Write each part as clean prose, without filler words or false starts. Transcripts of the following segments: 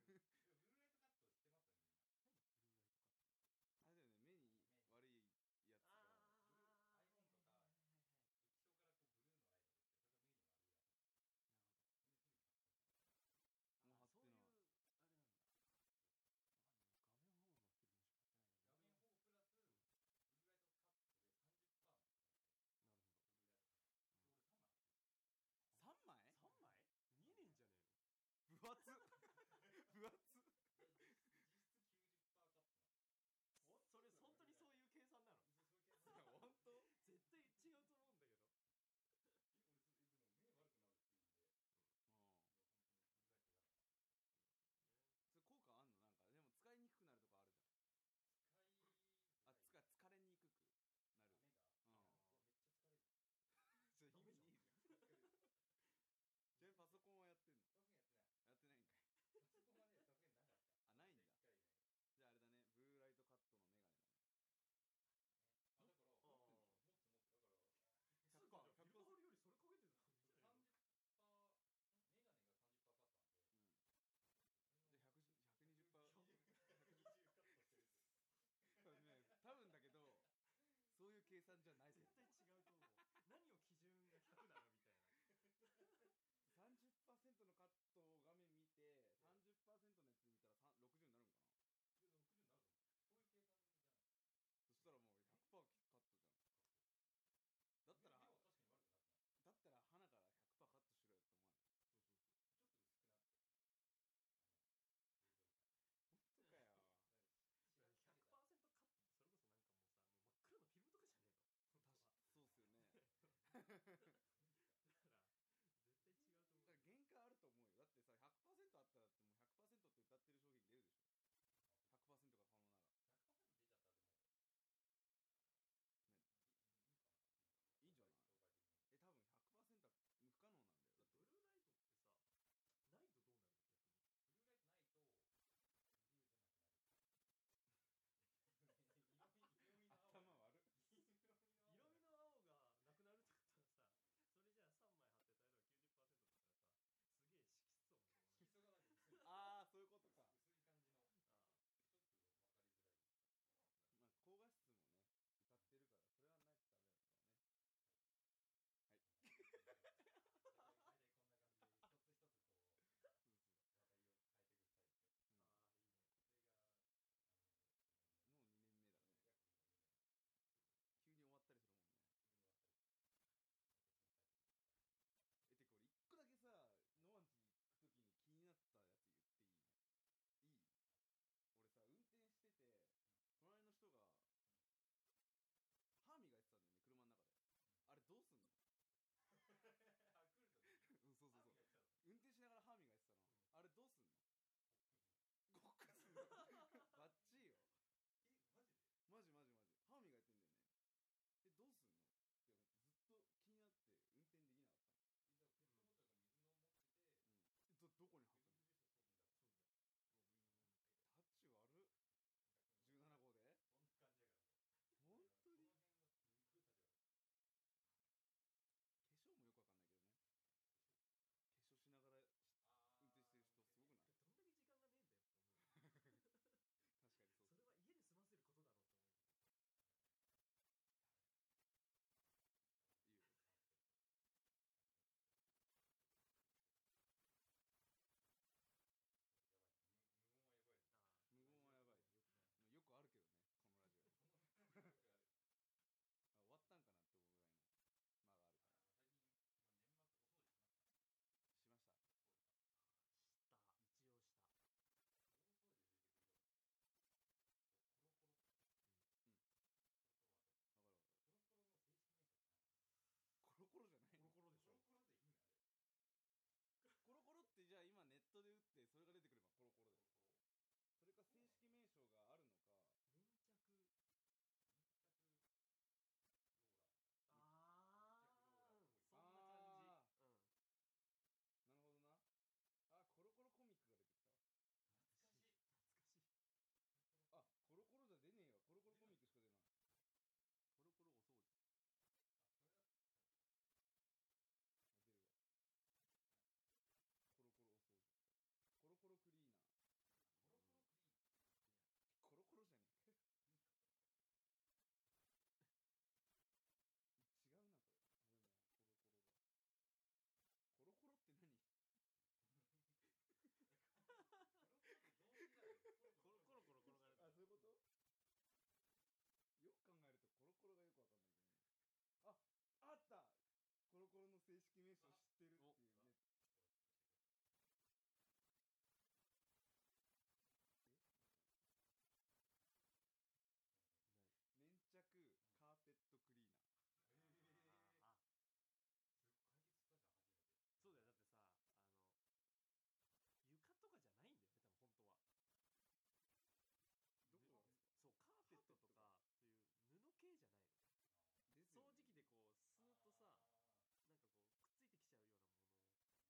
ブルーライトカット知ってますみんな。 何ブルーライトカットって。 あれだよね、目に悪いやつが。 iPhone とか液晶からこうブルーのライトが出てそれが目に悪いらしい。 なるほど。 みんなすぐに貼ってんじゃん。 もう貼ってない。 あれなんだ。まあでも画面保護のフィルムしか貼ってないから。 画面保護プラス、ブルーライトカットで 30% まで下がるから。 なるほど。 ブルーライトカット。で俺3枚貼ってる。 3枚 ?3 枚見えねえんじゃねえの。 分厚分厚実質 90% カットなの。 それ本当にそういう計算なの？ そういう計算。 本当絶対違うと思うんだけど。 俺でも目悪くなるっていうんで、本当にブルーライト嫌だなと思って。 なるほどね。 それ効果あんの？なんかでも使いにくくなるとこあるじゃん。疲れにくくなる。 目がめっちゃ疲れる。 それ意味ねえじゃん。 疲れる。 じゃあパソコンはやってんの？ パソコンやってない。 やってないんかい。 パソコンはね、さすがになかった。 あ、ないんだ。 1回ね。 じゃああれだね、ブルーライトカットのメガネだね。 だから持つだからつうかビルバールよりそれかけてたんじゃないの？ 30% メガネが 30% カットなんで、 じゃあ120% カットしてるって多分だけどそういう計算じゃない。 絶対違うと思う。何を基準が100なのみたいな。 30% のカットを画面見て 30% のやつで見たら60になるんかな。 60になると思う。そういう計算じゃない。 そしたらもう 100% カットじゃん。だったら目は確かに悪くなってない。 だったら鼻から 100% カットしろよって思わない？ そうちょっと薄くなって映像が本当かよ。 100% カットってそれこそなんかもうさ、もう真っ黒のフィルムとかじゃねえの？本当はそうっすよね。 ころの正式名称知ってるっていうね。 これちょっとしてください。 ない。 粘着カーペットクリーナー。 ああ、 それ解決したじゃん、初めて。 そうだよ。だってさ、床とかじゃないんだよね、多分本当は。 どこがですか？ そう、カーペットとかそういう布系じゃないの。 ですよね。 掃除機でこうスーッとさ、なんかこうくっついてきちゃうようなもの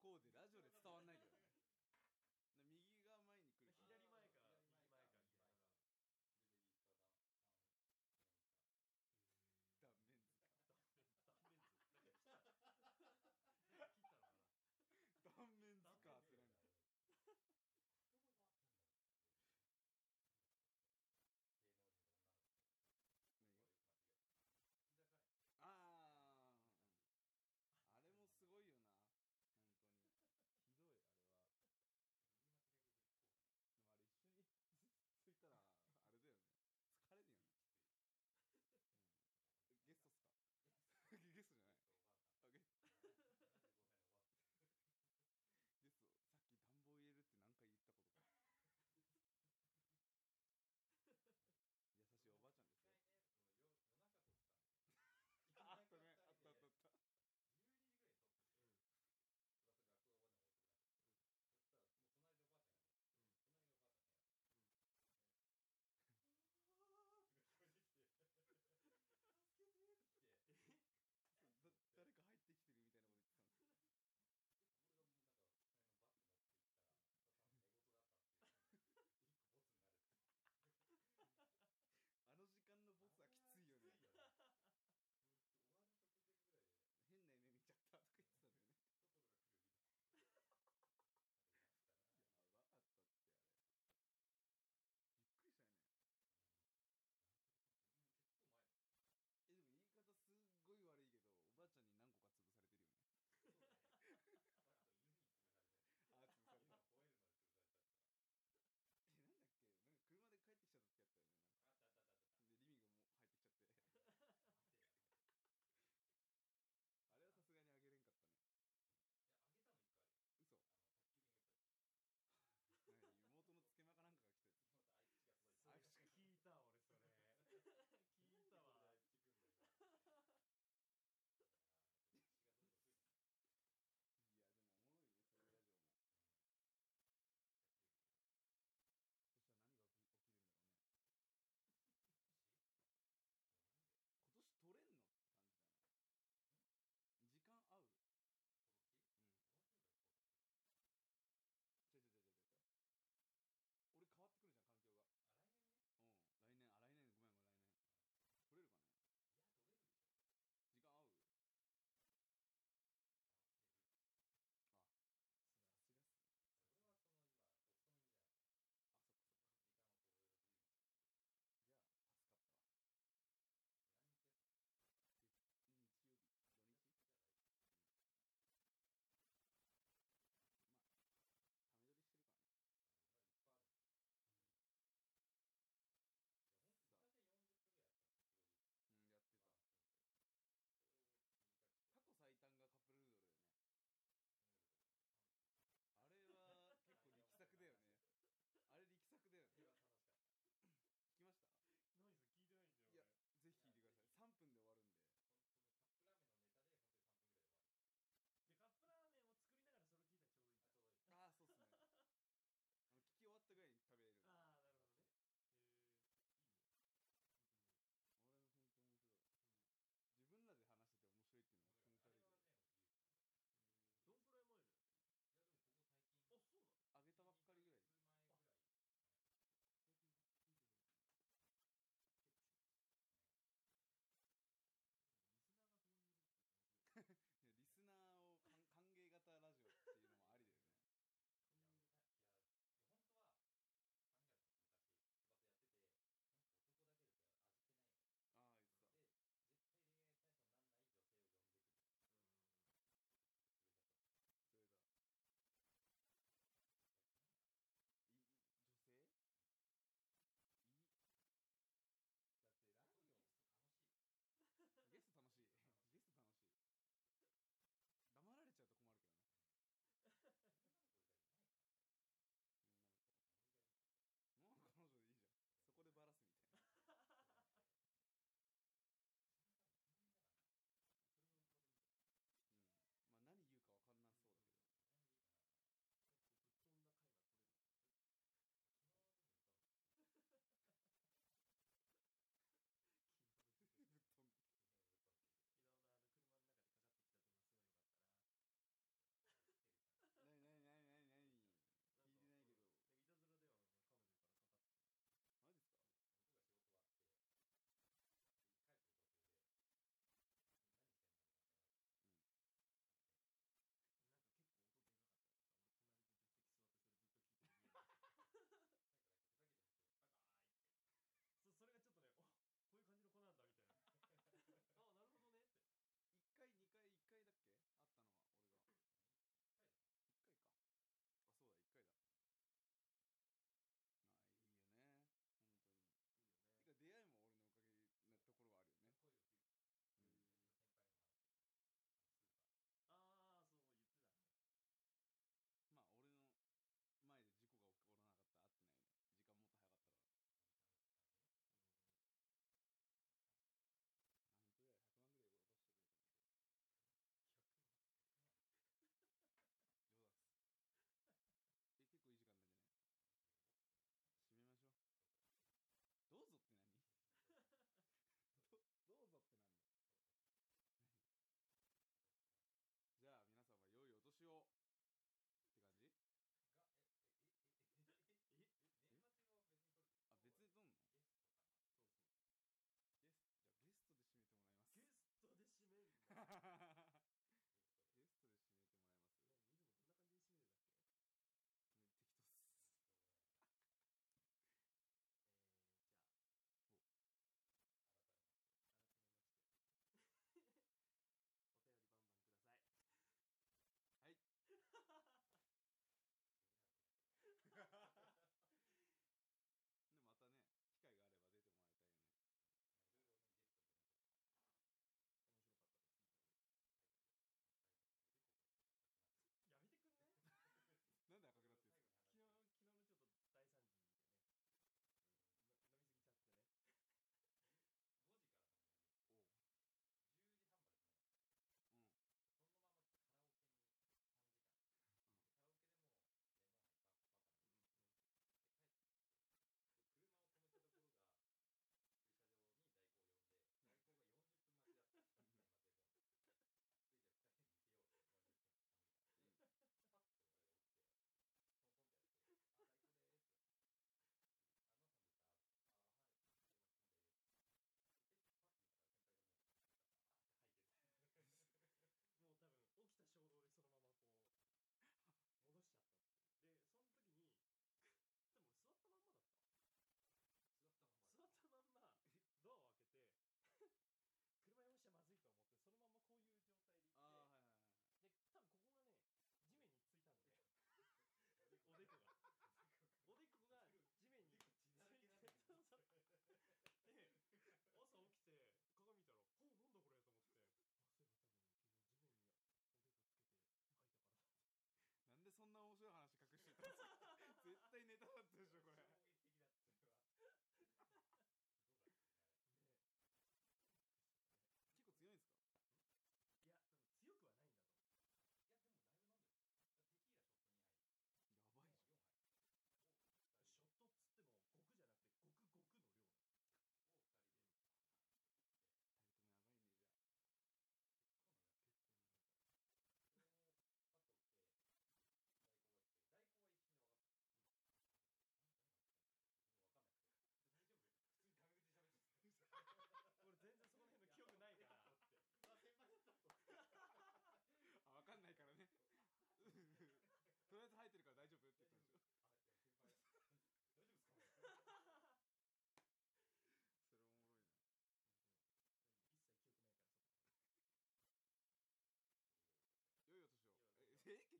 こうでラジオで伝わんないけどね。で右が前に来るから左前か左右前かみたいな。 でレディースかダメンズか。 断面図か。 断面図。なんか切ったのかな。 断面図かってなんか。 言葉がなんだろう、なんだっけ、芸能人の女の子言葉をよく間違えて日高い。 あれもすごいよな本当に。ひど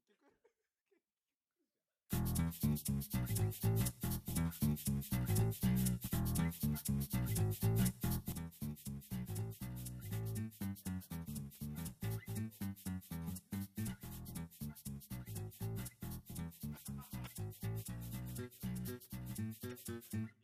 局じゃん。